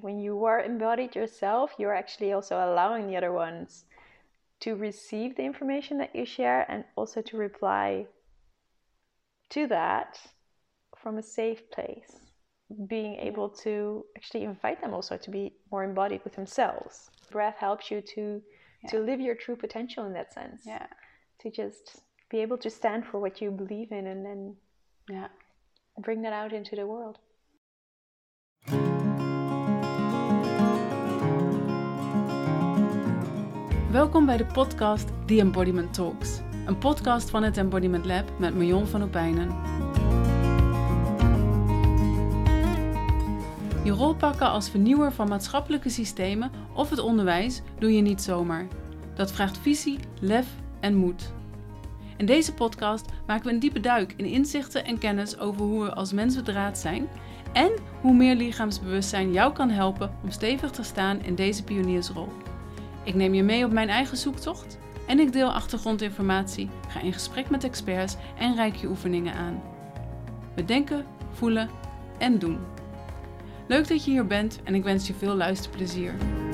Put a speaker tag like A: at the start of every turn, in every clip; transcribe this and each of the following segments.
A: when you are embodied yourself, you're actually also allowing the other ones to receive the information that you share and also to reply to that from a safe place. Being able to actually invite them also to be more embodied with themselves. Breath helps you to live your true potential in that sense.
B: Yeah.
A: To just be able to stand for what you believe in and then bring that out into the world.
C: Welkom bij de podcast The Embodiment Talks. Een podcast van het Embodiment Lab met Marion van Opijnen. Je rol pakken als vernieuwer van maatschappelijke systemen of het onderwijs doe je niet zomaar. Dat vraagt visie, lef en moed. In deze podcast maken we een diepe duik in inzichten en kennis over hoe we als mens bedraad zijn en hoe meer lichaamsbewustzijn jou kan helpen om stevig te staan in deze pioniersrol. Ik neem je mee op mijn eigen zoektocht en ik deel achtergrondinformatie, ga in gesprek met experts en reik je oefeningen aan. We denken, voelen en doen. Leuk dat je hier bent en ik wens je veel luisterplezier.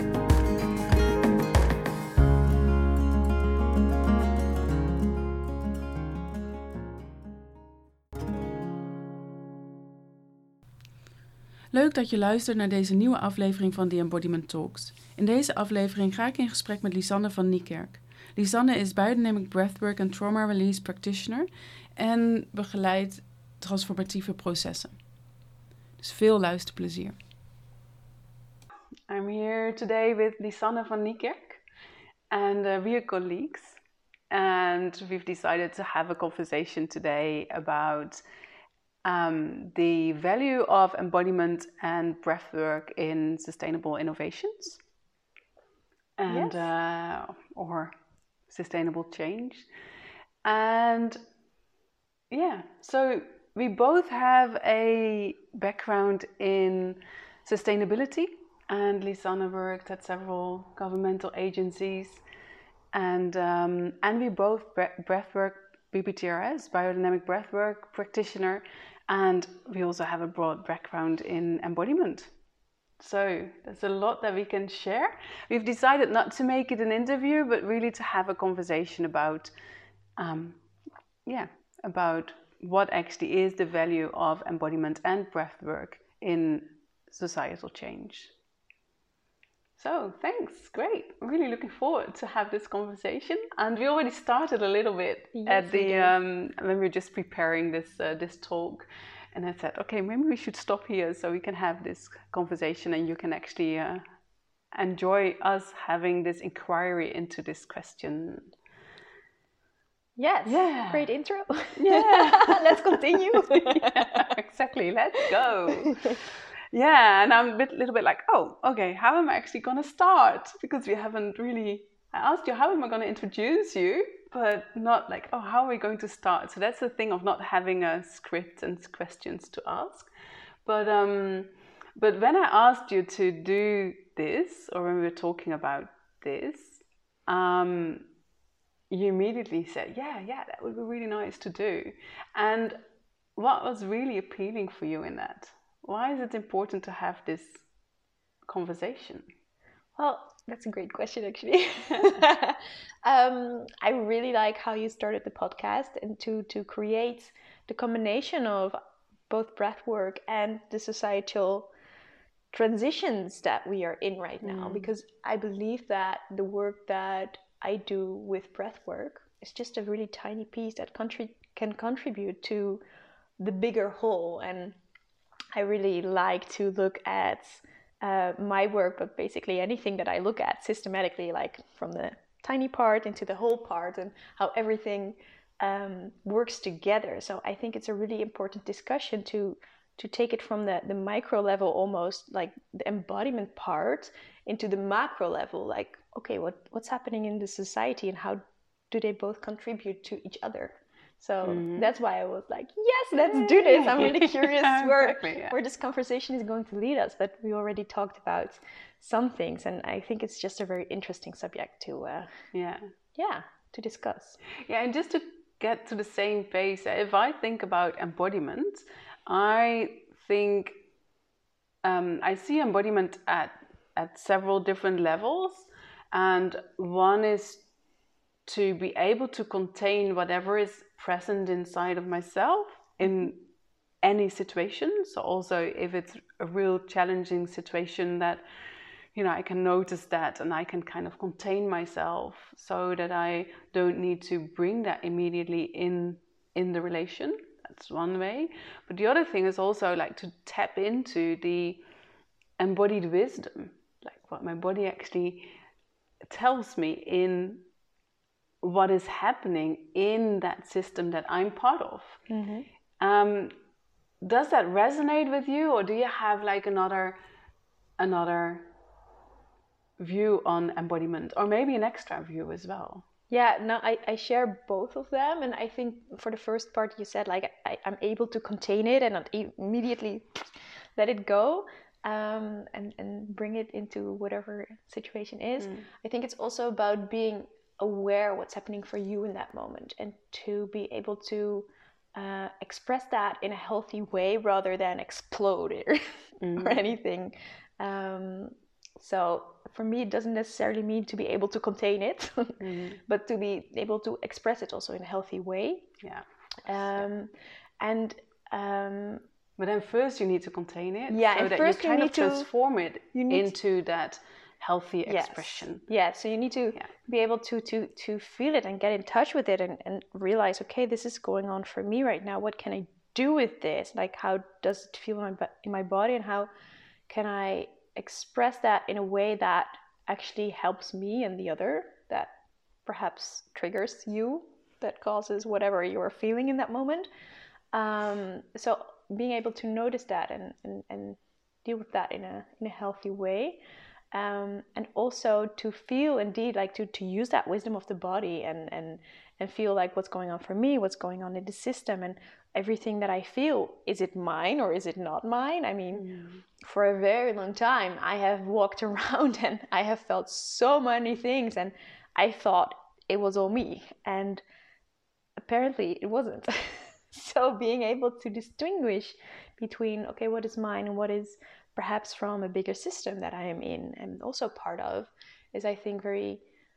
C: Leuk dat je luistert naar deze nieuwe aflevering van The Embodiment Talks. In deze aflevering ga ik in gesprek met Lisanne van Niekerk. Lisanne is Biodynamic Breathwork en Trauma Release Practitioner en begeleidt transformatieve processen. Dus veel luisterplezier. I'm here today with Lisanne van Niekerk and we are colleagues and we've decided to have a conversation today about the value of embodiment and breathwork in sustainable innovations and or sustainable change. And so we both have a background in sustainability, and Lisanne worked at several governmental agencies, and we both breathwork BBTRS, biodynamic breathwork practitioner, and we also have a broad background in embodiment. So there's a lot that we can share. We've decided not to make it an interview, but really to have a conversation about, about what actually is the value of embodiment and breathwork in societal change. So thanks, great. I'm really looking forward to have this conversation. And we already started a little bit at the when we were just preparing this talk. And I said, okay, maybe we should stop here so we can have this conversation and you can actually enjoy us having this inquiry into this question.
A: Yes, great intro.
B: Yeah,
A: let's continue.
B: Exactly, let's go. Yeah, and I'm a little bit like, oh, okay, how am I actually going to start? Because we haven't really, I asked you, how am I going to introduce you? But not like, oh, how are we going to start? So that's the thing of not having a script and questions to ask. But when I asked you to do this, or when we were talking about this, you immediately said, yeah, that would be really nice to do. And what was really appealing for you in that? Why is it important to have this conversation?
A: Well, that's a great question, actually. I really like how you started the podcast and to create the combination of both breathwork and the societal transitions that we are in right now. Because I believe that the work that I do with breathwork is just a really tiny piece that can contribute to the bigger whole. And I really like to look at my work, but basically anything that I look at systematically, like from the tiny part into the whole part and how everything works together. So I think it's a really important discussion to take it from the micro level, almost like the embodiment part, into the macro level, like, okay, what's happening in the society and how do they both contribute to each other? So that's why I was like, yes, let's do this. I'm really curious where this conversation is going to lead us. But we already talked about some things, and I think it's just a very interesting subject to discuss.
B: Yeah, and just to get to the same pace, if I think about embodiment, I think I see embodiment at several different levels, and one is to be able to contain whatever is present inside of myself in any situation. So also if it's a real challenging situation, that I can notice that and I can kind of contain myself so that I don't need to bring that immediately in the relation. That's one way. But the other thing is also like to tap into the embodied wisdom, like what my body actually tells me in what is happening in that system that I'm part of. Does that resonate with you, or do you have like another view on embodiment, or maybe an extra view as well?
A: Yeah, no, I share both of them. And I think for the first part you said, like, I'm able to contain it and not immediately let it go, and bring it into whatever situation is. I think it's also about being aware what's happening for you in that moment, and to be able to express that in a healthy way rather than explode or anything. So for me, it doesn't necessarily mean to be able to contain it, but to be able to express it also in a healthy way.
B: Yeah.
A: But
B: then first you need to contain it,
A: so
B: that you kind of transform it into that healthy expression.
A: Yeah, so you need to be able to feel it and get in touch with it, and realize, okay, this is going on for me right now. What can I do with this? Like, how does it feel in my body, and how can I express that in a way that actually helps me and the other, that perhaps triggers you, that causes whatever you're feeling in that moment. So being able to notice that and deal with that in a healthy way. And also to feel, indeed, like to use that wisdom of the body and feel like what's going on for me, what's going on in the system, and everything that I feel, is it mine or is it not mine? I mean, for a very long time, I have walked around and I have felt so many things, and I thought it was all me, and apparently it wasn't. So being able to distinguish between, okay, what is mine and what is perhaps from a bigger system that I am in and also part of, is, I think, very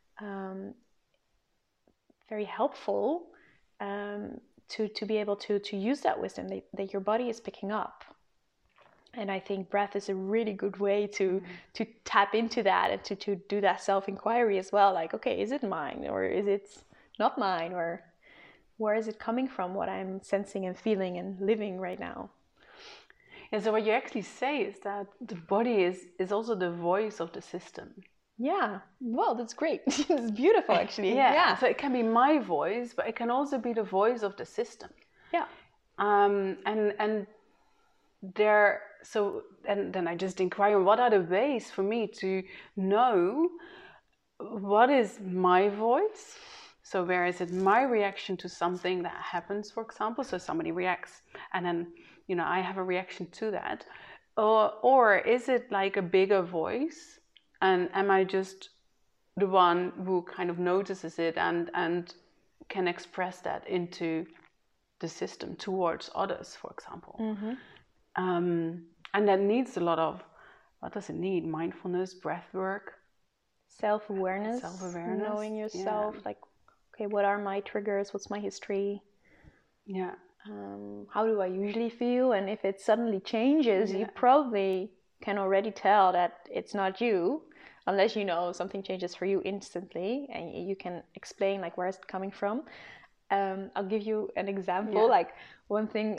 A: very helpful to be able to use that wisdom that your body is picking up. And I think breath is a really good way to tap into that, and to do that self-inquiry as well. Like, okay, is it mine or is it not mine, or where is it coming from, what I'm sensing and feeling and living right now?
B: And so what you actually say is that the body is also the voice of the system.
A: Yeah, well, that's great. It's beautiful, actually.
B: Yeah. So it can be my voice, but it can also be the voice of the system.
A: Yeah.
B: And there. So and then I just inquire, what are the ways for me to know what is my voice? So where is it my reaction to something that happens, for example? So somebody reacts, and then I have a reaction to that, or is it like a bigger voice? And am I just the one who kind of notices it and can express that into the system towards others, for example? And that needs a lot of, what does it need? Mindfulness, breath work,
A: self-awareness, knowing yourself. Like, okay, what are my triggers? What's my history?
B: Yeah.
A: How do I usually feel? And if it suddenly changes, you probably can already tell that it's not you, unless something changes for you instantly and you can explain, like, where is it coming from. I'll give you an example. Like, one thing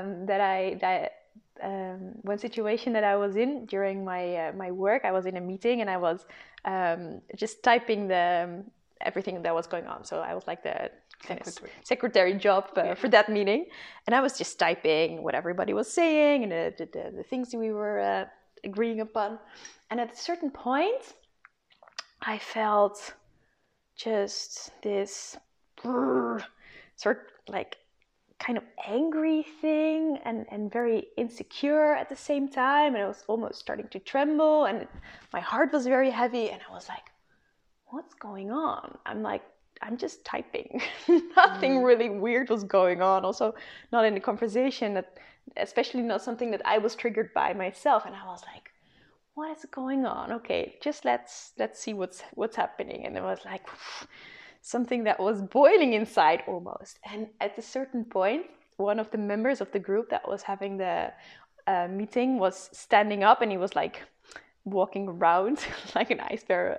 A: one situation that I was in during my work, I was in a meeting and I was just typing everything that was going on. So I was like the secretary job for that meeting, and I was just typing what everybody was saying and the things we were agreeing upon. And at a certain point, I felt just this sort like kind of angry thing and very insecure at the same time, and I was almost starting to tremble, and my heart was very heavy, and I was like, what's going on? I'm like, I'm just typing. Nothing really weird was going on. Also, not in the conversation, especially not something that I was triggered by myself. And I was like, what is going on? Okay, just let's see what's happening. And it was like something that was boiling inside almost. And at a certain point, one of the members of the group that was having the meeting was standing up, and he was like walking around like an ice bear,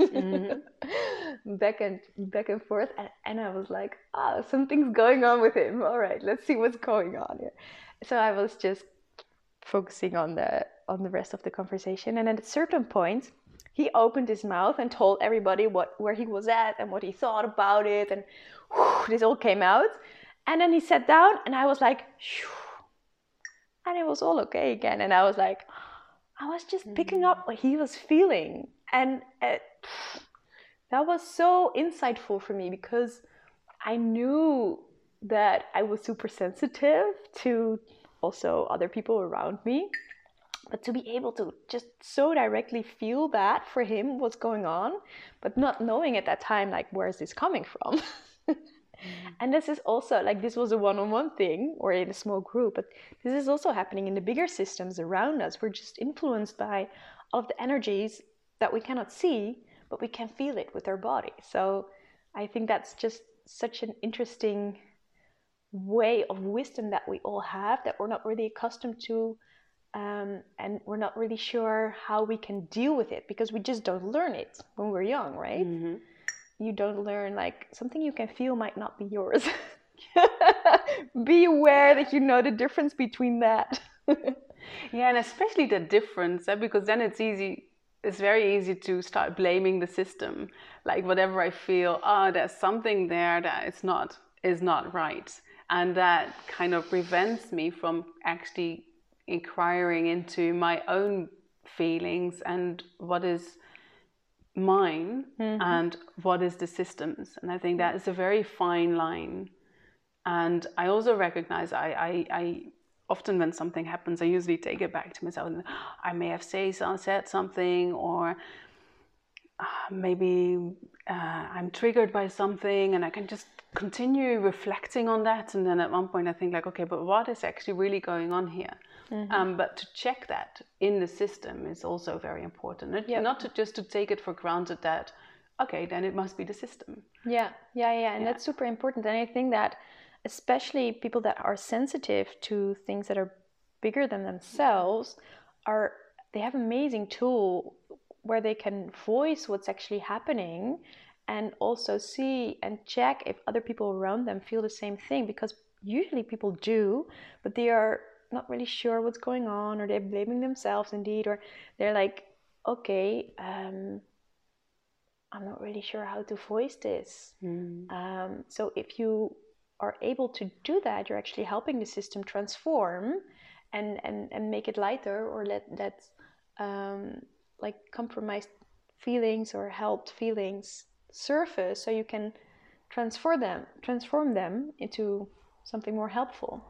A: back and forth. And I was like, something's going on with him. All right, let's see what's going on here. So I was just focusing on the rest of the conversation. And at a certain point, he opened his mouth and told everybody where he was at and what he thought about it. And this all came out. And then he sat down, and I was like, and it was all okay again. And I was like, I was just picking up what he was feeling. And that was so insightful for me, because I knew that I was super sensitive to also other people around me. But to be able to just so directly feel that for him, what's going on, but not knowing at that time, like, where is this coming from? And this is also, like, this was a one-on-one thing or in a small group, but this is also happening in the bigger systems around us. We're just influenced by all of the energies that we cannot see, but we can feel it with our body. So I think that's just such an interesting way of wisdom that we all have, that we're not really accustomed to, and we're not really sure how we can deal with it, because we just don't learn it when we're young, right? You don't learn, like, something you can feel might not be yours. Be aware that you know the difference between that.
B: Yeah, and especially the difference, because then it's very easy to start blaming the system. Like, whatever I feel, there's something there that is not right. And that kind of prevents me from actually inquiring into my own feelings and what is mine and what is the system's. And I think that is a very fine line. And I also recognize I often, when something happens, I usually take it back to myself, and I may have said something, or maybe I'm triggered by something, and I can just continue reflecting on that. And then at one point I think, like, okay, but what is actually really going on here? But to check that in the system is also very important. Not to take it for granted that, okay, then it must be the system.
A: And that's super important. And I think that especially people that are sensitive to things that are bigger than themselves, they have an amazing tool where they can voice what's actually happening, and also see and check if other people around them feel the same thing, because usually people do, but they are not really sure what's going on, or they're blaming themselves indeed, or they're like, okay, I'm not really sure how to voice this. So if you are able to do that, you're actually helping the system transform and make it lighter, or let like compromised feelings or helped feelings surface, so you can transform them into something more helpful.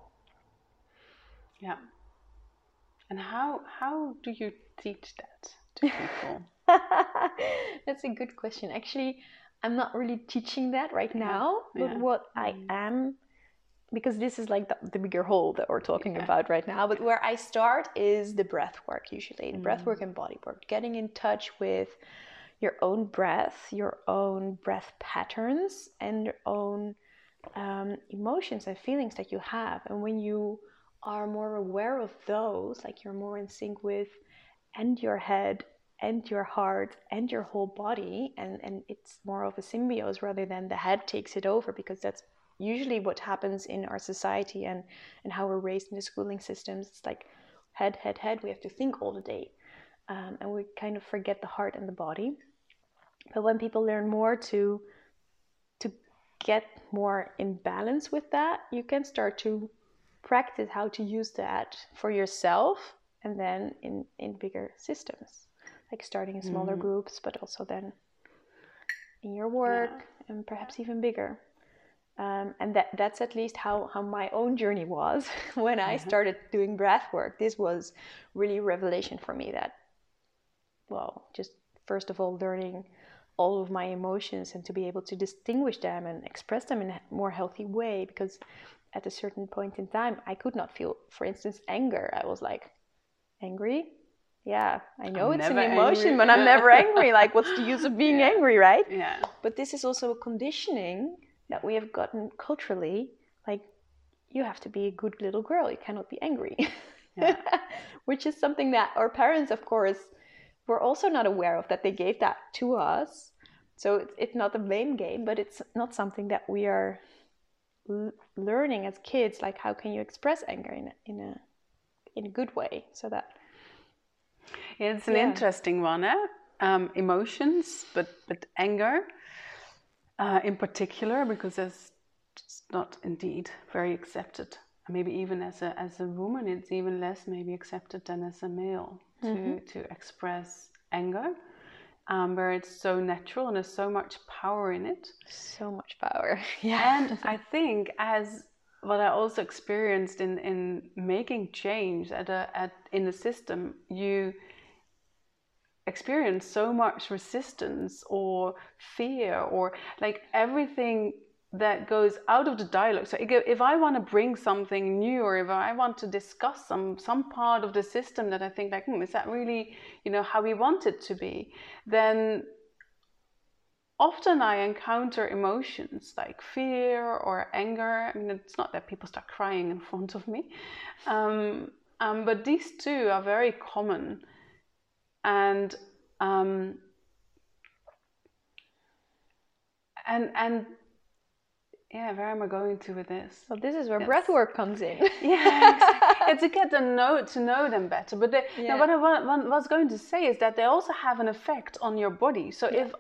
B: Yeah. And how do you teach that to people?
A: That's a good question. Actually, I'm not really teaching that right now, but what I am, because this is like the bigger whole that we're talking about right now, but where I start is the breath work, usually. The breath work and body work, getting in touch with your own breath, your own breath patterns, and your own emotions and feelings that you have. And when you are more aware of those, like, you're more in sync with and your head and your heart and your whole body, and it's more of a symbiosis rather than the head takes it over, because that's usually what happens in our society and how we're raised in the schooling systems. It's like head, we have to think all the day, and we kind of forget the heart and the body. But when people learn more to get more in balance with that, you can start to practice how to use that for yourself, and then in bigger systems, like starting in smaller groups, but also then in your work, and perhaps even bigger. And that's at least how my own journey was when I started doing breath work. This was really a revelation for me, that, well, just first of all learning all of my emotions and to be able to distinguish them and express them in a more healthy way, because at a certain point in time I could not feel, for instance, anger. I was like, angry? Yeah, I know it's an emotion, but I'm never angry. Like, what's the use of being angry, right?
B: Yeah.
A: But this is also a conditioning that we have gotten culturally. Like, you have to be a good little girl. You cannot be angry.
B: Yeah.
A: Which is something that our parents, of course, were also not aware of, that they gave that to us. So it's not a blame game, but it's not something that we are learning as kids. Like, how can you express anger in a good way, so that...
B: Yeah, it's an interesting one, emotions, but anger in particular, because it's not indeed very accepted. Maybe even as a woman, it's even less maybe accepted than as a male to express anger, where it's so natural and there's so much power in it.
A: So much power, yeah.
B: And I think, as what I also experienced in making change in the system, you experience so much resistance or fear, or like everything that goes out of the dialogue. So if I want to bring something new, or if I want to discuss some part of the system that I think like, is that really, how we want it to be, then often I encounter emotions like fear or anger. I mean, it's not that people start crying in front of me, but these two are very common. And yeah, where am I going to with this?
A: Well, this is where breathwork comes in.
B: Yeah, exactly. To get to know them better. But now what I was going to say is that they also have an effect on your body. So if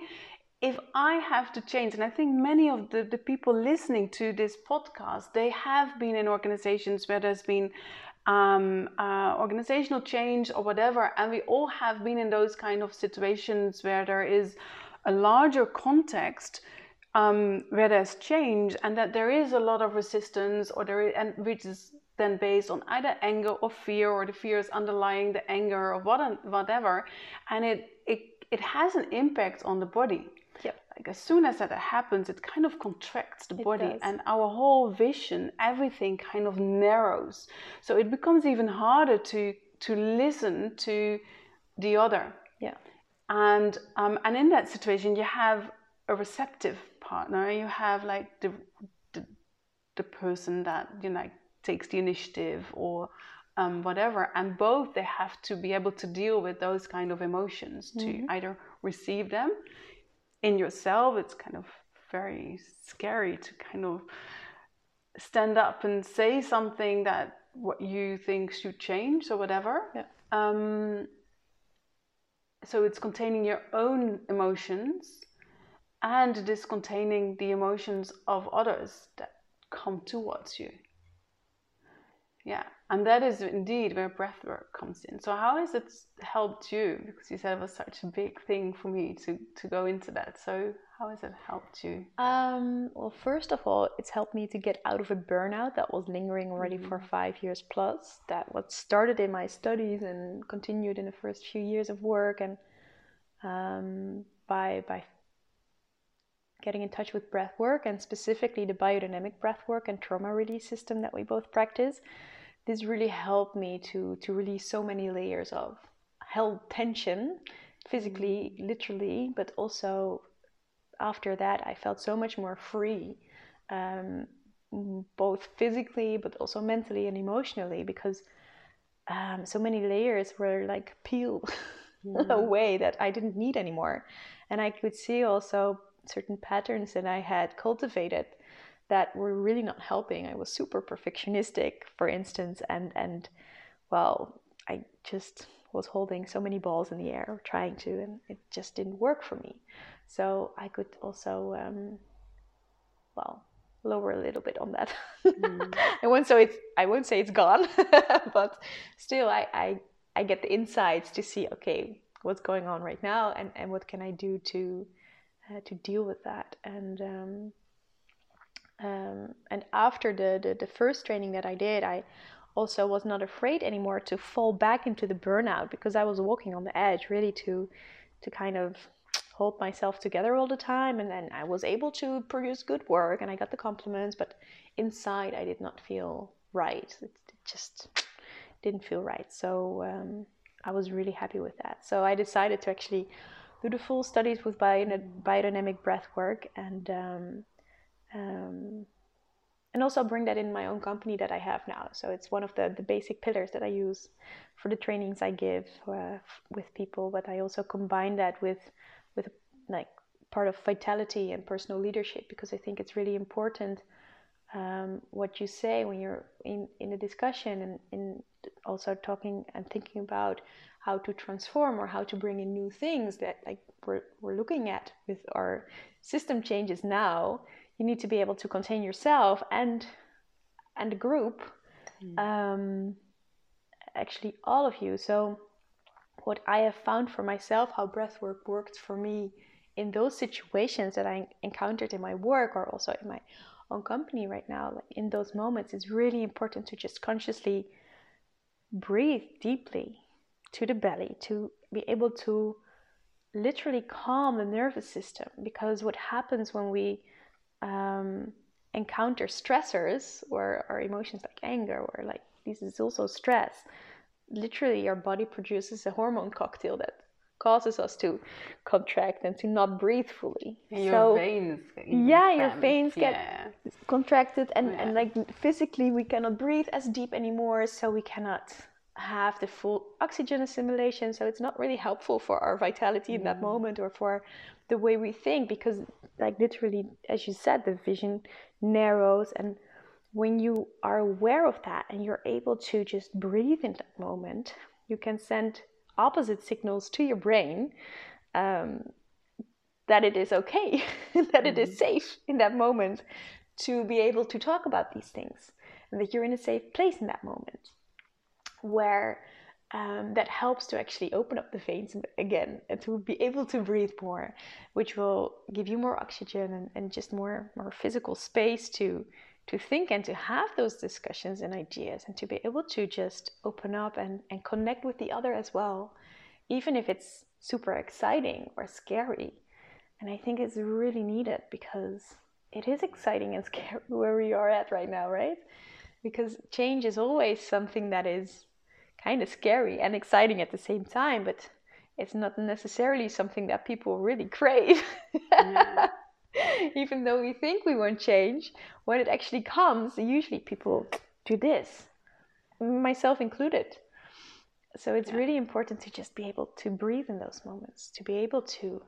B: I have to change, and I think many of the people listening to this podcast, they have been in organizations where there's been organizational change or whatever, and we all have been in those kind of situations where there is a larger context where there's change, and that there is a lot of resistance, and which is then based on either anger or fear, or the fear is underlying the anger or whatever, and it has an impact on the body.
A: Yep.
B: Like, as soon as that happens, it kind of contracts the body, and our whole vision, everything kind of narrows. So it becomes even harder to listen to the other.
A: Yeah.
B: And in that situation, you have a receptive partner. You have like the person that takes the initiative or whatever, and both, they have to be able to deal with those kind of emotions, to either receive them in yourself. It's kind of very scary to kind of stand up and say something that what you think should change or whatever.
A: Yeah.
B: So it's containing your own emotions, and it is containing the emotions of others that come towards you. Yeah, and that is indeed where breathwork comes in. So how has it helped you? Because you said it was such a big thing for me to go into that. So how has it helped you?
A: Well, first of all, it's helped me to get out of a burnout that was lingering already for 5 years plus. That what started in my studies and continued in the first few years of work, and by getting in touch with breathwork, and specifically the biodynamic breathwork and trauma release system that we both practice. This really helped me to release so many layers of held tension, physically, literally, but also after that I felt so much more free, both physically but also mentally and emotionally, because so many layers were like peeled away that I didn't need anymore. And I could see also certain patterns that I had cultivated that were really not helping. I was super perfectionistic, for instance, and well, I just was holding so many balls in the air, trying to, and it just didn't work for me. So I could also, lower a little bit on that. I won't say it's gone, but still, I get the insights to see, okay, what's going on right now, and what can I do to deal with that. And after the first training that I did, I also was not afraid anymore to fall back into the burnout, because I was walking on the edge, really to kind of hold myself together all the time, and then I was able to produce good work and I got the compliments, but inside I did not feel right. It just didn't feel right. So I was really happy with that. So I decided to actually do the full studies with biodynamic breath work, and also bring that in my own company that I have now. So it's one of the basic pillars that I use for the trainings I give with people, but I also combine that with like part of vitality and personal leadership, because I think it's really important what you say when you're in a discussion, and in also talking and thinking about how to transform or how to bring in new things that like we're looking at with our system changes now. You need to be able to contain yourself and the group, actually all of you. So what I have found for myself, how breathwork worked for me in those situations that I encountered in my work or also in my own company right now, like in those moments, it's really important to just consciously breathe deeply to the belly, to be able to literally calm the nervous system. Because what happens when we encounter stressors or emotions like anger, or like this is also stress, literally our body produces a hormone cocktail that causes us to contract and to not breathe fully.
B: And your veins
A: get contracted, and like physically we cannot breathe as deep anymore, so we cannot have the full oxygen assimilation. So it's not really helpful for our vitality in that moment, or for the way we think, because like literally, as you said, the vision narrows. And when you are aware of that and you're able to just breathe in that moment, you can send opposite signals to your brain that it is okay, that it is safe in that moment to be able to talk about these things, and that you're in a safe place in that moment, where that helps to actually open up the veins again and to be able to breathe more, which will give you more oxygen and just more physical space to think and to have those discussions and ideas, and to be able to just open up and connect with the other as well, even if it's super exciting or scary. And I think it's really needed, because it is exciting and scary where we are at right now, right? Because change is always something that is kind of scary and exciting at the same time, but it's not necessarily something that people really crave. Yeah. Even though we think we won't change, when it actually comes, usually people do this, myself included. So it's really important to just be able to breathe in those moments, to be able to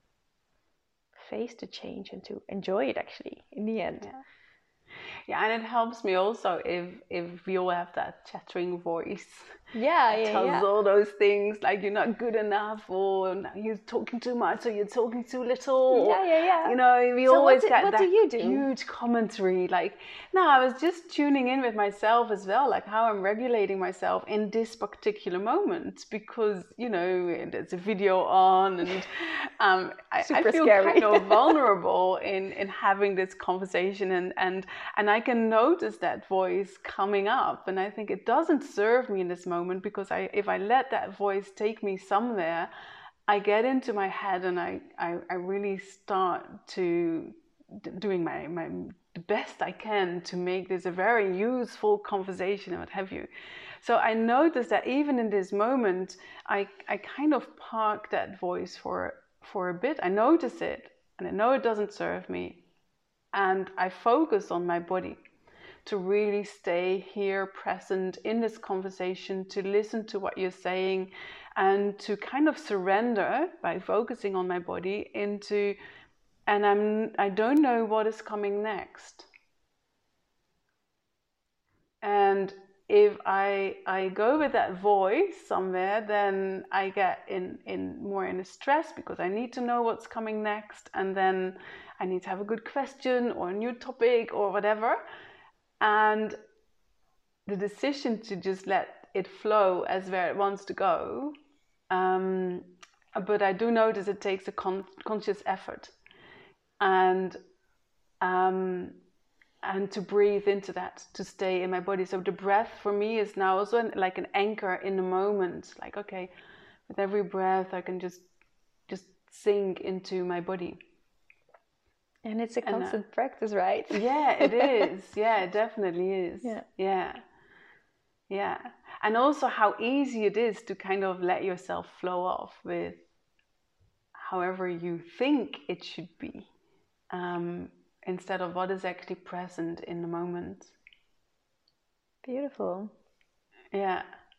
A: face the change and to enjoy it actually in the end.
B: Yeah, and it helps me also if we all have that chattering voice. Tells all those things like you're not good enough, or you're talking too much, or you're talking too little. You know, we always get that huge commentary. Like, no, I was just tuning in with myself as well, like how I'm regulating myself in this particular moment, because you know there's a video on, and I feel kind of vulnerable in having this conversation, and I can notice that voice coming up, and I think it doesn't serve me in this moment, because if I let that voice take me somewhere, I get into my head, and I really start to doing the best I can to make this a very useful conversation and what have you. So I noticed that even in this moment, I kind of park that voice for a bit. I notice it, and I know it doesn't serve me, and I focus on my body to really stay here present in this conversation, to listen to what you're saying, and to kind of surrender by focusing on my body into, and I don't know what is coming next. And if I go with that voice somewhere, then I get in more in a stress, because I need to know what's coming next, and then I need to have a good question or a new topic or whatever. And the decision to just let it flow as where it wants to go. But I do notice it takes a conscious effort. And to breathe into that, to stay in my body. So the breath for me is now also like an anchor in the moment. Like, okay, with every breath I can just sink into my body.
A: And it's a constant practice, right?
B: Yeah, it is. Yeah, it definitely is. Yeah. And also how easy it is to kind of let yourself flow off with however you think it should be, instead of what is actually present in the moment.
A: Beautiful.
B: Yeah.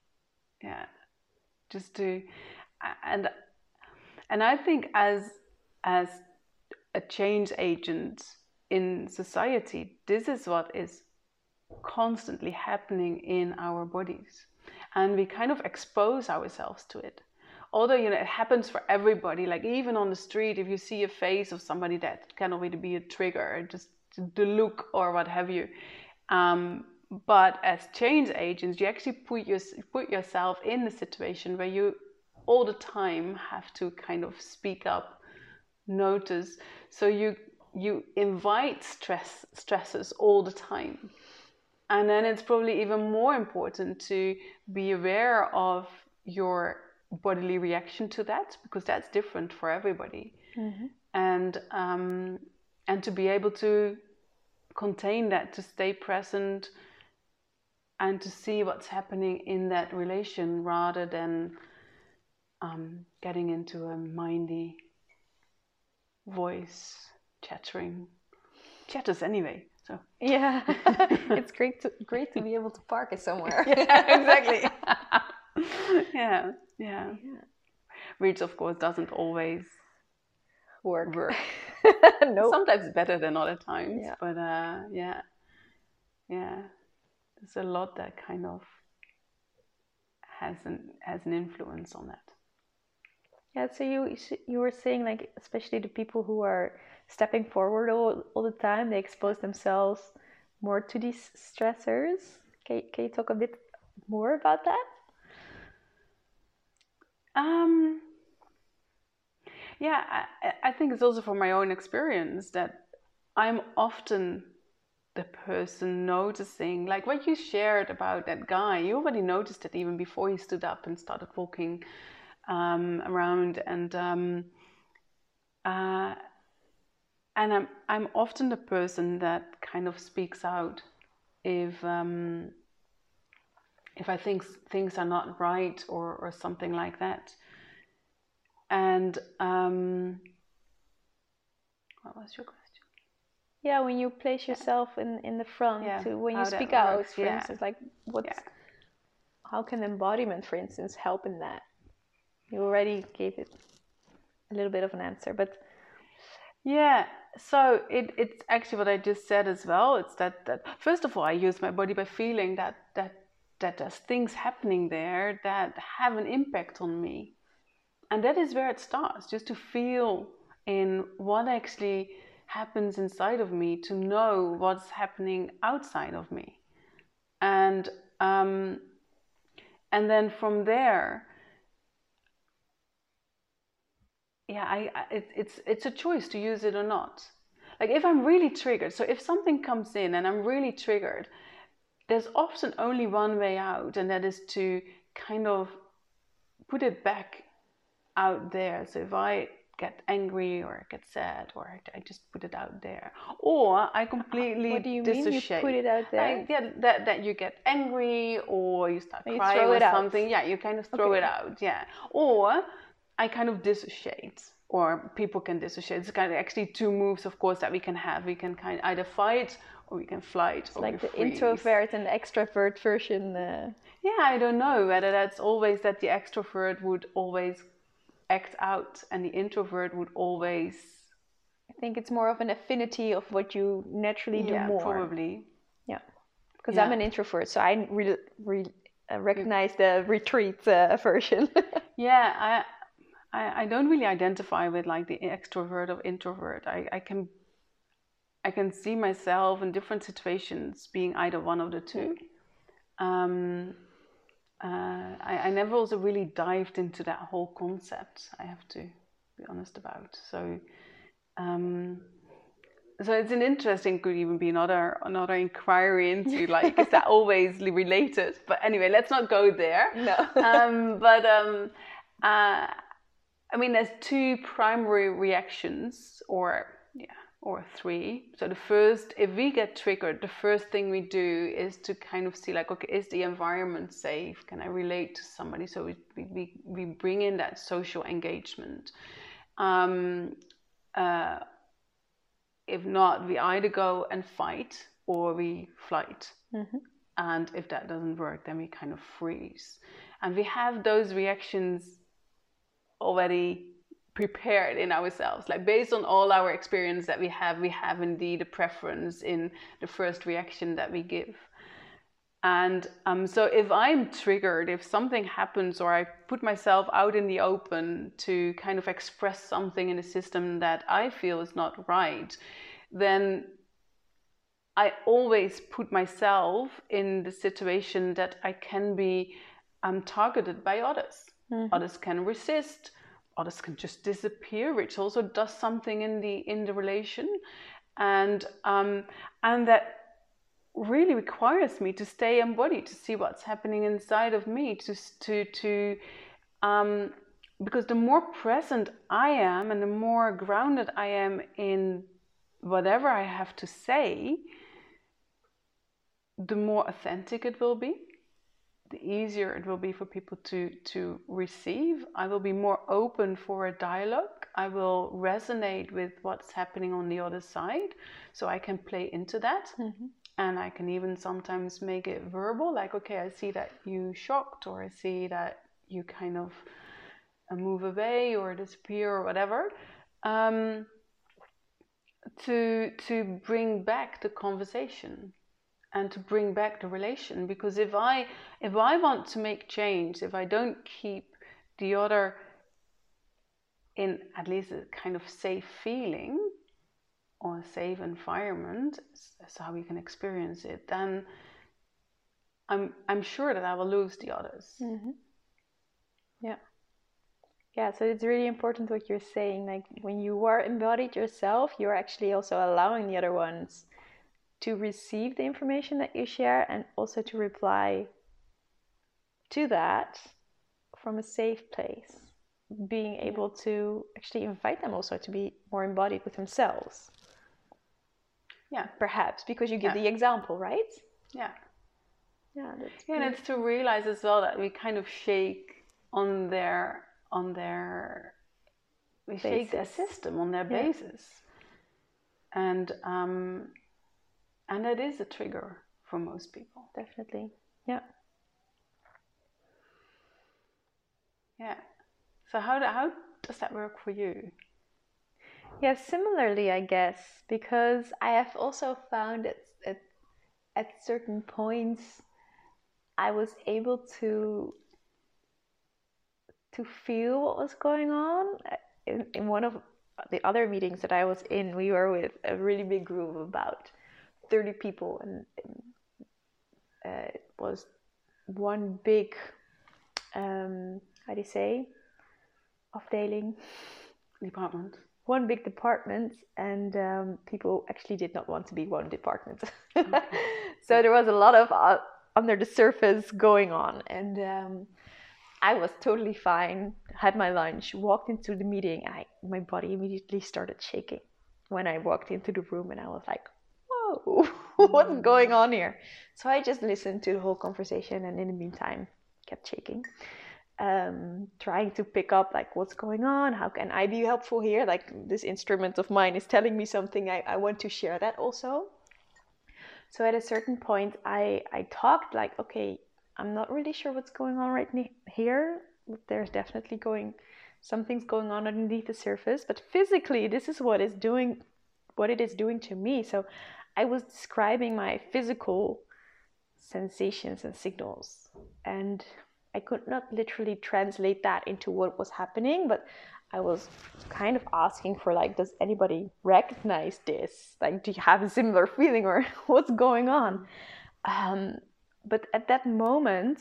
B: Just to, and I think as a change agent in society, this is what is constantly happening in our bodies, and we kind of expose ourselves to it. Although, you know, it happens for everybody, like even on the street, if you see a face of somebody that can already be a trigger, just the look or what have you. But as change agents, you actually put yourself in the situation where you all the time have to kind of speak up, notice. So you invite stresses all the time. And then it's probably even more important to be aware of your bodily reaction to that, because that's different for everybody. Mm-hmm. And to be able to contain that, to stay present, and to see what's happening in that relation, rather than getting into a mindy voice chatters anyway. So
A: yeah, it's great to be able to park it somewhere.
B: Yeah, exactly. yeah. Which of course doesn't always work.
A: No.
B: Sometimes better than other times.
A: Yeah.
B: But yeah. There's a lot that kind of has an influence on that.
A: Yeah, so you were saying, like, especially the people who are stepping forward all the time, they expose themselves more to these stressors. Can you talk a bit more about that?
B: Yeah, I think it's also from my own experience that I'm often the person noticing, like what you shared about that guy. You already noticed it even before he stood up and started walking around, and I'm often the person that kind of speaks out if I think things are not right or something like that. And what was your question?
A: Yeah, when you place yourself in the front, when you speak out, for instance, like how can embodiment, for instance, help in that? You already gave it a little bit of an answer, but
B: yeah. So it's actually what I just said as well. It's that first of all, I use my body by feeling that there's things happening there that have an impact on me, and that is where it starts. Just to feel in what actually happens inside of me, to know what's happening outside of me, and then from there, it's a choice to use it or not. Like if I'm really triggered, so if something comes in and I'm really triggered, there's often only one way out, and that is to kind of put it back out there. So if I get angry or get sad, or I just put it out there, or I completely
A: what do you
B: dissociate.
A: Mean you put it out there?
B: That you get angry, or you start crying or something.
A: Out.
B: Yeah, you kind of throw it out. Yeah, or I kind of dissociate, or people can dissociate. It's kind of actually two moves, of course, that we can have. We can kind of either fight, or we can flight.
A: It's like the introvert and the extrovert version.
B: Yeah, I don't know whether that's always that the extrovert would always act out and the introvert would always.
A: I think it's more of an affinity of what you naturally do more.
B: Probably.
A: Yeah, because I'm an introvert, so I really recognize the retreat version.
B: Yeah, I don't really identify with like the extrovert or introvert. I can see myself in different situations being either one of the two. I never also really dived into that whole concept, I have to be honest about. So it's an interesting, could even be another inquiry into like, is that always related? But anyway, let's not go there.
A: No.
B: I mean, there's two primary reactions, or three. So the first, if we get triggered, the first thing we do is to kind of see like, okay, is the environment safe? Can I relate to somebody? So we bring in that social engagement. If not, we either go and fight or we flight.
A: Mm-hmm.
B: And if that doesn't work, then we kind of freeze. And we have those reactions already prepared in ourselves. Like based on all our experience that we have indeed a preference in the first reaction that we give. And so if I'm triggered, if something happens or I put myself out in the open to kind of express something in the system that I feel is not right, then I always put myself in the situation that I can be targeted by others. Mm-hmm. Others can resist, others can just disappear, which also does something in the relation, and that really requires me to stay embodied, to see what's happening inside of me, to because the more present I am and the more grounded I am in whatever I have to say, the more authentic it will be, the easier it will be for people to receive. I will be more open for a dialogue. I will resonate with what's happening on the other side, so I can play into that. Mm-hmm. And I can even sometimes make it verbal, like, okay, I see that you shocked, or I see that you kind of move away or disappear or whatever, to bring back the conversation and to bring back the relation. Because if I want to make change, if I don't keep the other in at least a kind of safe feeling or a safe environment, that's how we can experience it, then I'm sure that I will lose the others.
A: Mm-hmm. Yeah, so it's really important what you're saying. Like when you are embodied yourself, you're actually also allowing the other ones to receive the information that you share and also to reply to that from a safe place. Being able to actually invite them also to be more embodied with themselves.
B: Yeah,
A: perhaps because you give the example, right?
B: Yeah,
A: that's
B: and it's to realize as well that we kind of shake on their we shake their system on their basis, and that is a trigger for most people.
A: Definitely.
B: So how does that work for you?
A: Yeah, similarly, I guess, because I have also found at certain points I was able to feel what was going on. In one of the other meetings that I was in, we were with a really big group of about 30 people, and it was one big, how do you say, afdeling?
B: Department.
A: One big department, and people actually did not want to be one department.
B: Okay.
A: So there was a lot of under the surface going on, and I was totally fine, had my lunch, walked into the meeting. My body immediately started shaking when I walked into the room, and I was like, whoa, what's going on here? So I just listened to the whole conversation, and in the meantime kept shaking, trying to pick up like what's going on, how can I be helpful here, like this instrument of mine is telling me something, I want to share that also. So at a certain point I talked like, okay, I'm not really sure what's going on right here. There's definitely something's going on underneath the surface, but physically this is what it is doing to me. So I was describing my physical sensations and signals, and I could not literally translate that into what was happening, but I was kind of asking for like, does anybody recognize this? Like, do you have a similar feeling, or what's going on? But at that moment,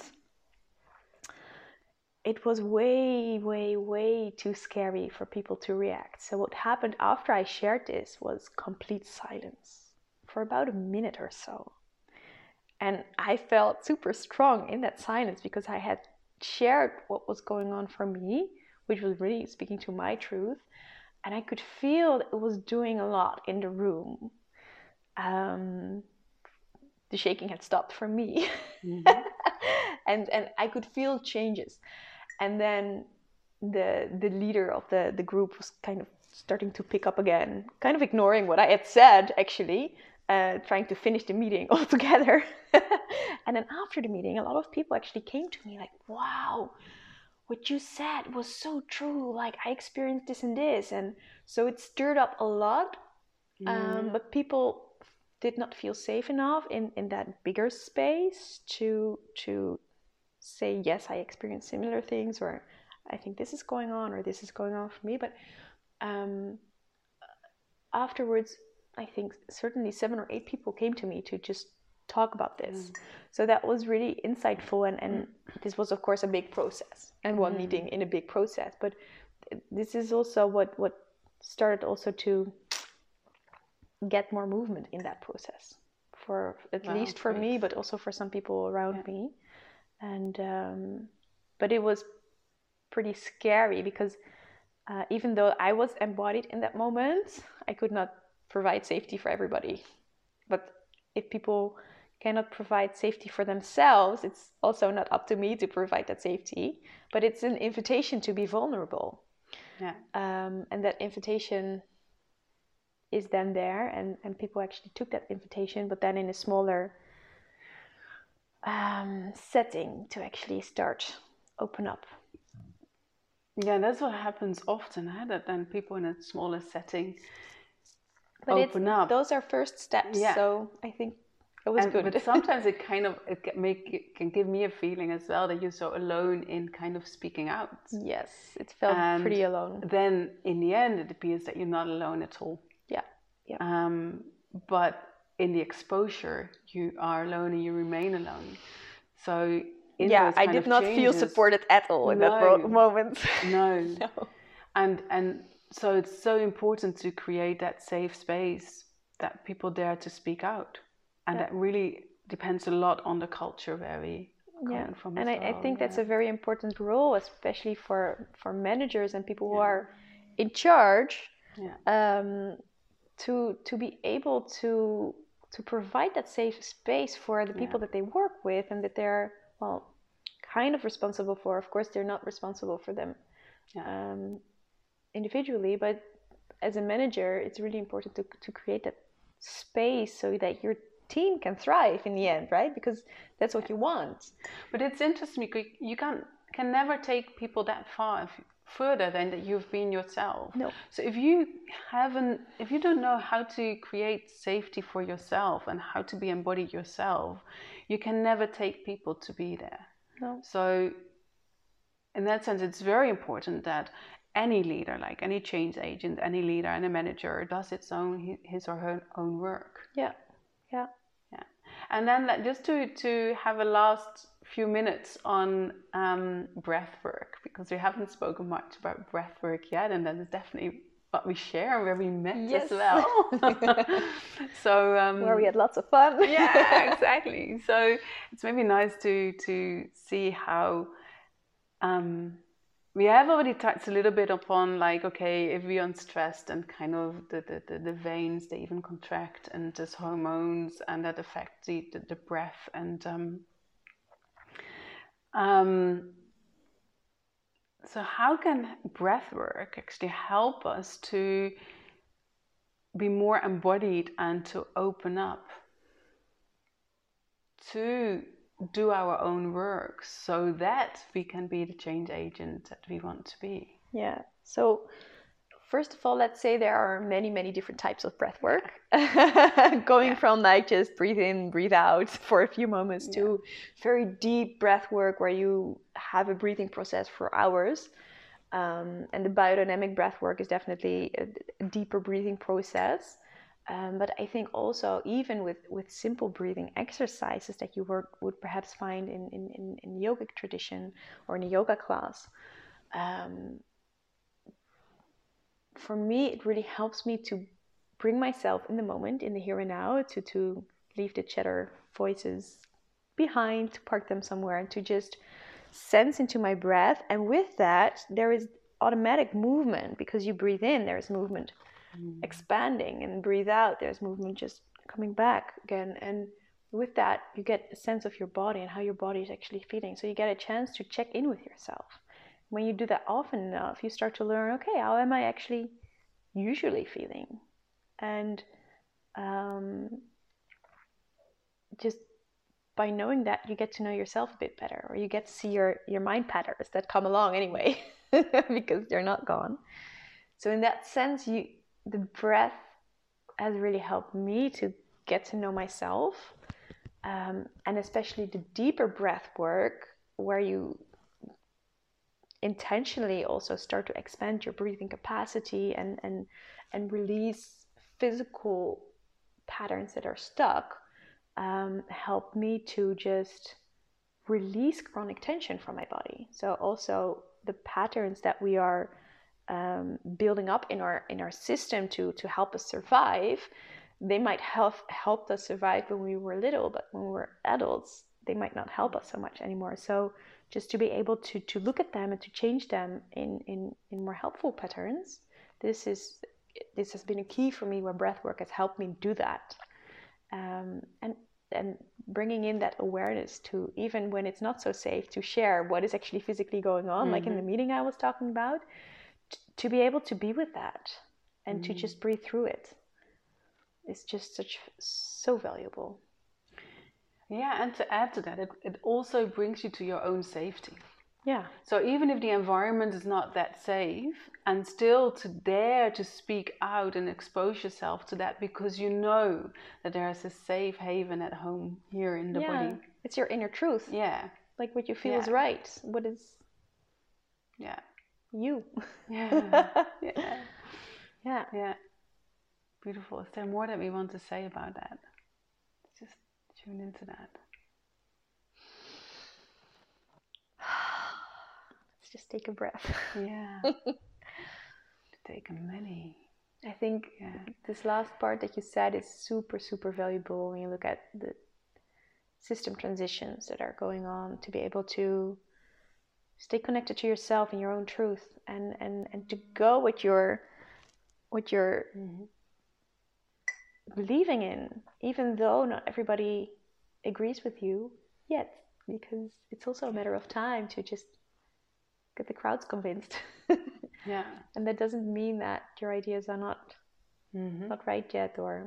A: it was way, way, way too scary for people to react. So what happened after I shared this was complete silence for about a minute or so. And I felt super strong in that silence because I had shared what was going on for me which was really speaking to my truth. And I could feel it was doing a lot in the room. The shaking had stopped for me. Mm-hmm. and I could feel changes. And then the leader of the group was kind of starting to pick up again, kind of ignoring what I had said, actually, trying to finish the meeting altogether. And then after the meeting, a lot of people actually came to me like, wow, what you said was so true. Like, I experienced this and this. And so it stirred up a lot. But people did not feel safe enough in that bigger space to say, yes, I experienced similar things, or I think this is going on, or this is going on for me. But afterwards, I think certainly 7 or 8 people came to me to just talk about this. So that was really insightful, and this was of course a big process, and one meeting in a big process. But this is also what started also to get more movement in that process, for at least for me, but also for some people around me. And but it was pretty scary, because even though I was embodied in that moment, I could not provide safety for everybody. But if people cannot provide safety for themselves, it's also not up to me to provide that safety. But it's an invitation to be vulnerable. And that invitation is then there, and people actually took that invitation, but then in a smaller setting, to actually start open up.
B: Yeah, that's what happens often, that then people in a smaller setting open up.
A: Those are first steps. So I think it was good.
B: But sometimes it can give me a feeling as well that you're so alone in kind of speaking out.
A: Yes, it felt pretty alone.
B: Then in the end, it appears that you're not alone at all. But in the exposure, you are alone and you remain alone. So
A: I did not feel supported at all in that moment.
B: No. And so it's so important to create that safe space that people dare to speak out. And that really depends a lot on the culture where we come from.
A: And I think that's a very important role, especially for managers and people who are in charge, to be able to provide that safe space for the people that they work with, and that they're kind of responsible for. Of course, they're not responsible for them individually, but as a manager, it's really important to create that space so that your team can thrive in the end, right? Because that's what you want.
B: But it's interesting because you can never take people that far further than that you've been yourself.
A: No.
B: So if you don't know how to create safety for yourself and how to be embodied yourself, you can never take people to be there.
A: No.
B: So in that sense, it's very important that any leader, like any change agent, any leader and a manager, does his or her own work.
A: Yeah.
B: And then just to have a last few minutes on breath work, because we haven't spoken much about breath work yet, and that is definitely what we share and where we met as well. So
A: where we had lots of fun.
B: Yeah, exactly. So it's maybe nice to see how we have already touched a little bit upon, like, okay, if we're unstressed and kind of the veins, they even contract, and there's hormones and that affect the breath, and so how can breath work actually help us to be more embodied and to open up, to do our own work so that we can be the change agent that we want to be?
A: Yeah. So first of all, let's say there are many, many different types of breath work, going from like just breathe in, breathe out for a few moments to very deep breath work where you have a breathing process for hours. And the biodynamic breath work is definitely a deeper breathing process. But I think also even with simple breathing exercises that you would perhaps find in the yogic tradition or in a yoga class, for me it really helps me to bring myself in the moment, in the here and now, to leave the chatter voices behind, to park them somewhere, and to just sense into my breath. And with that, there is automatic movement, because you breathe in, there's movement expanding, and breathe out, there's movement just coming back again. And with that, you get a sense of your body and how your body is actually feeling. So you get a chance to check in with yourself. When you do that often enough, you start to learn, okay, how am I actually usually feeling? And just by knowing that, you get to know yourself a bit better, or you get to see your mind patterns that come along anyway, because they're not gone. So in that sense, the breath has really helped me to get to know myself, and especially the deeper breath work, where you intentionally also start to expand your breathing capacity and release physical patterns that are stuck, help me to just release chronic tension from my body. So also the patterns that we are building up in our system to help us survive, they might have helped us survive when we were little, but when we were adults, they might not help us so much anymore. So just to be able to look at them and to change them in more helpful patterns, this has been a key for me, where breathwork has helped me do that. And bringing in that awareness to, even when it's not so safe, to share what is actually physically going on, like in the meeting I was talking about, to be able to be with that and to just breathe through it is just so valuable.
B: Yeah, and to add to that, it also brings you to your own safety.
A: Yeah.
B: So even if the environment is not that safe, and still to dare to speak out and expose yourself to that, because you know that there is a safe haven at home here in the body.
A: It's your inner truth.
B: Yeah.
A: Like what you feel is right. What is you.
B: Yeah. Yeah.
A: Yeah.
B: Yeah. Beautiful. Is there more that we want to say about that? Just tune into that.
A: Let's just take a breath.
B: Yeah. Take a many.
A: I think this last part that you said is super, super valuable when you look at the system transitions that are going on, to be able to stay connected to yourself and your own truth, and to go what you're believing in, even though not everybody agrees with you yet, because it's also a matter of time to just get the crowds convinced.
B: Yeah.
A: And that doesn't mean that your ideas are not right yet, or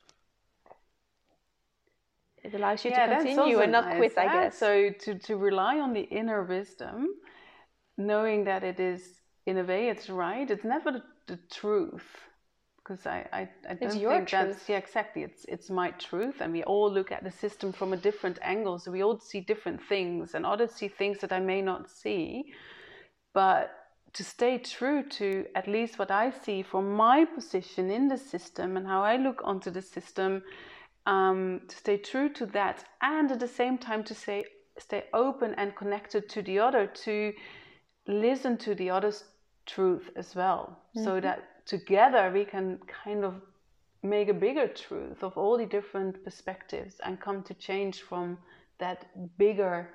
A: it allows you to continue and not quit, I guess.
B: So to rely on the inner wisdom, knowing that it is, in a way, it's right. It's never the truth, because I don't think that's exactly. It's my truth, and we all look at the system from a different angle. So we all see different things, and others see things that I may not see. But to stay true to at least what I see from my position in the system and how I look onto the system, to stay true to that, and at the same time to stay open and connected to the other, to listen to the other's truth as well, so that together we can kind of make a bigger truth of all the different perspectives and come to change from that bigger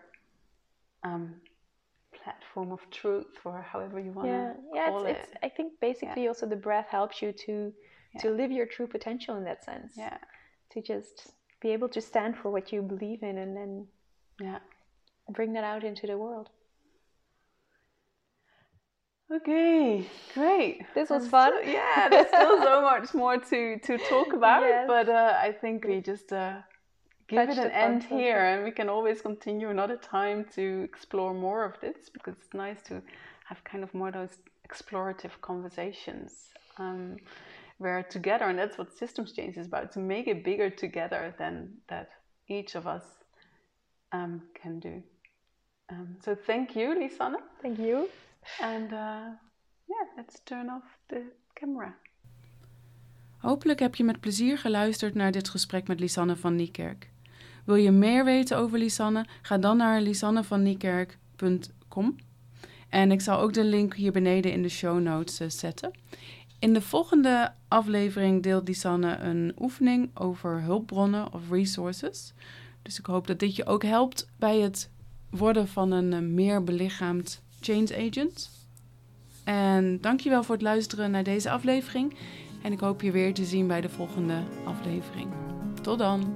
B: platform of truth, or however you want to call it.
A: I think basically also the breath helps you to live your true potential in that sense.
B: Yeah.
A: To just be able to stand for what you believe in, and then bring that out into the world.
B: Okay, great.
A: This was fun.
B: There's still so much more to talk about, but I think we just give it an end here, and we can always continue another time to explore more of this, because it's nice to have kind of more those explorative conversations where together, and that's what systems change is about, to make it bigger together than that each of us can do. So thank you, Lisanne.
A: Thank you.
B: And let's turn off the camera.
C: Hopelijk heb je met plezier geluisterd naar dit gesprek met Lisanne van Niekerk. Wil je meer weten over Lisanne? Ga dan naar lisannevanniekerk.com. En ik zal ook de link hier beneden in de show notes zetten. In de volgende aflevering deelt Lisanne een oefening over hulpbronnen of resources. Dus ik hoop dat dit je ook helpt bij het worden van een meer belichaamd change agent. En dankjewel voor het luisteren naar deze aflevering. En ik hoop je weer te zien bij de volgende aflevering. Tot dan!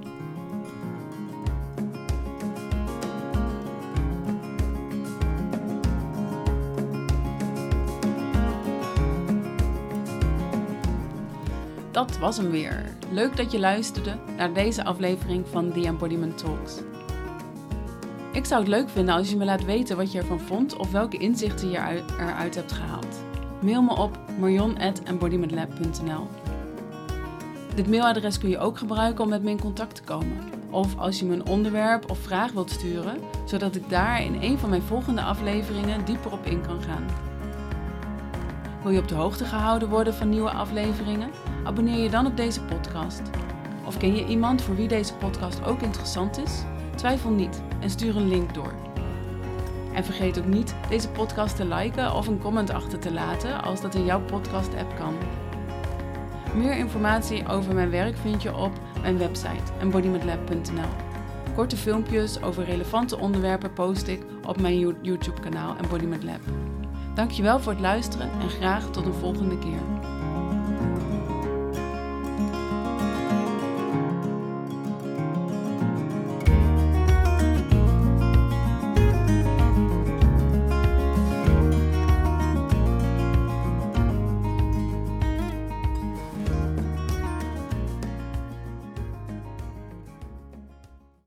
C: Dat was hem weer. Leuk dat je luisterde naar deze aflevering van The Embodiment Talks. Ik zou het leuk vinden als je me laat weten wat je ervan vond of welke inzichten je eruit hebt gehaald. Mail me op marion@embodimentlab.nl. Dit mailadres kun je ook gebruiken om met me in contact te komen. Of als je me een onderwerp of vraag wilt sturen, zodat ik daar in een van mijn volgende afleveringen dieper op in kan gaan. Wil je op de hoogte gehouden worden van nieuwe afleveringen? Abonneer je dan op deze podcast. Of ken je iemand voor wie deze podcast ook interessant is? Twijfel niet en stuur een link door. En vergeet ook niet deze podcast te liken of een comment achter te laten als dat in jouw podcast-app kan. Meer informatie over mijn werk vind je op mijn website embodimentlab.nl. Korte filmpjes over relevante onderwerpen post ik op mijn YouTube-kanaal Embodiment Lab. Dankjewel voor het luisteren en graag tot een volgende keer.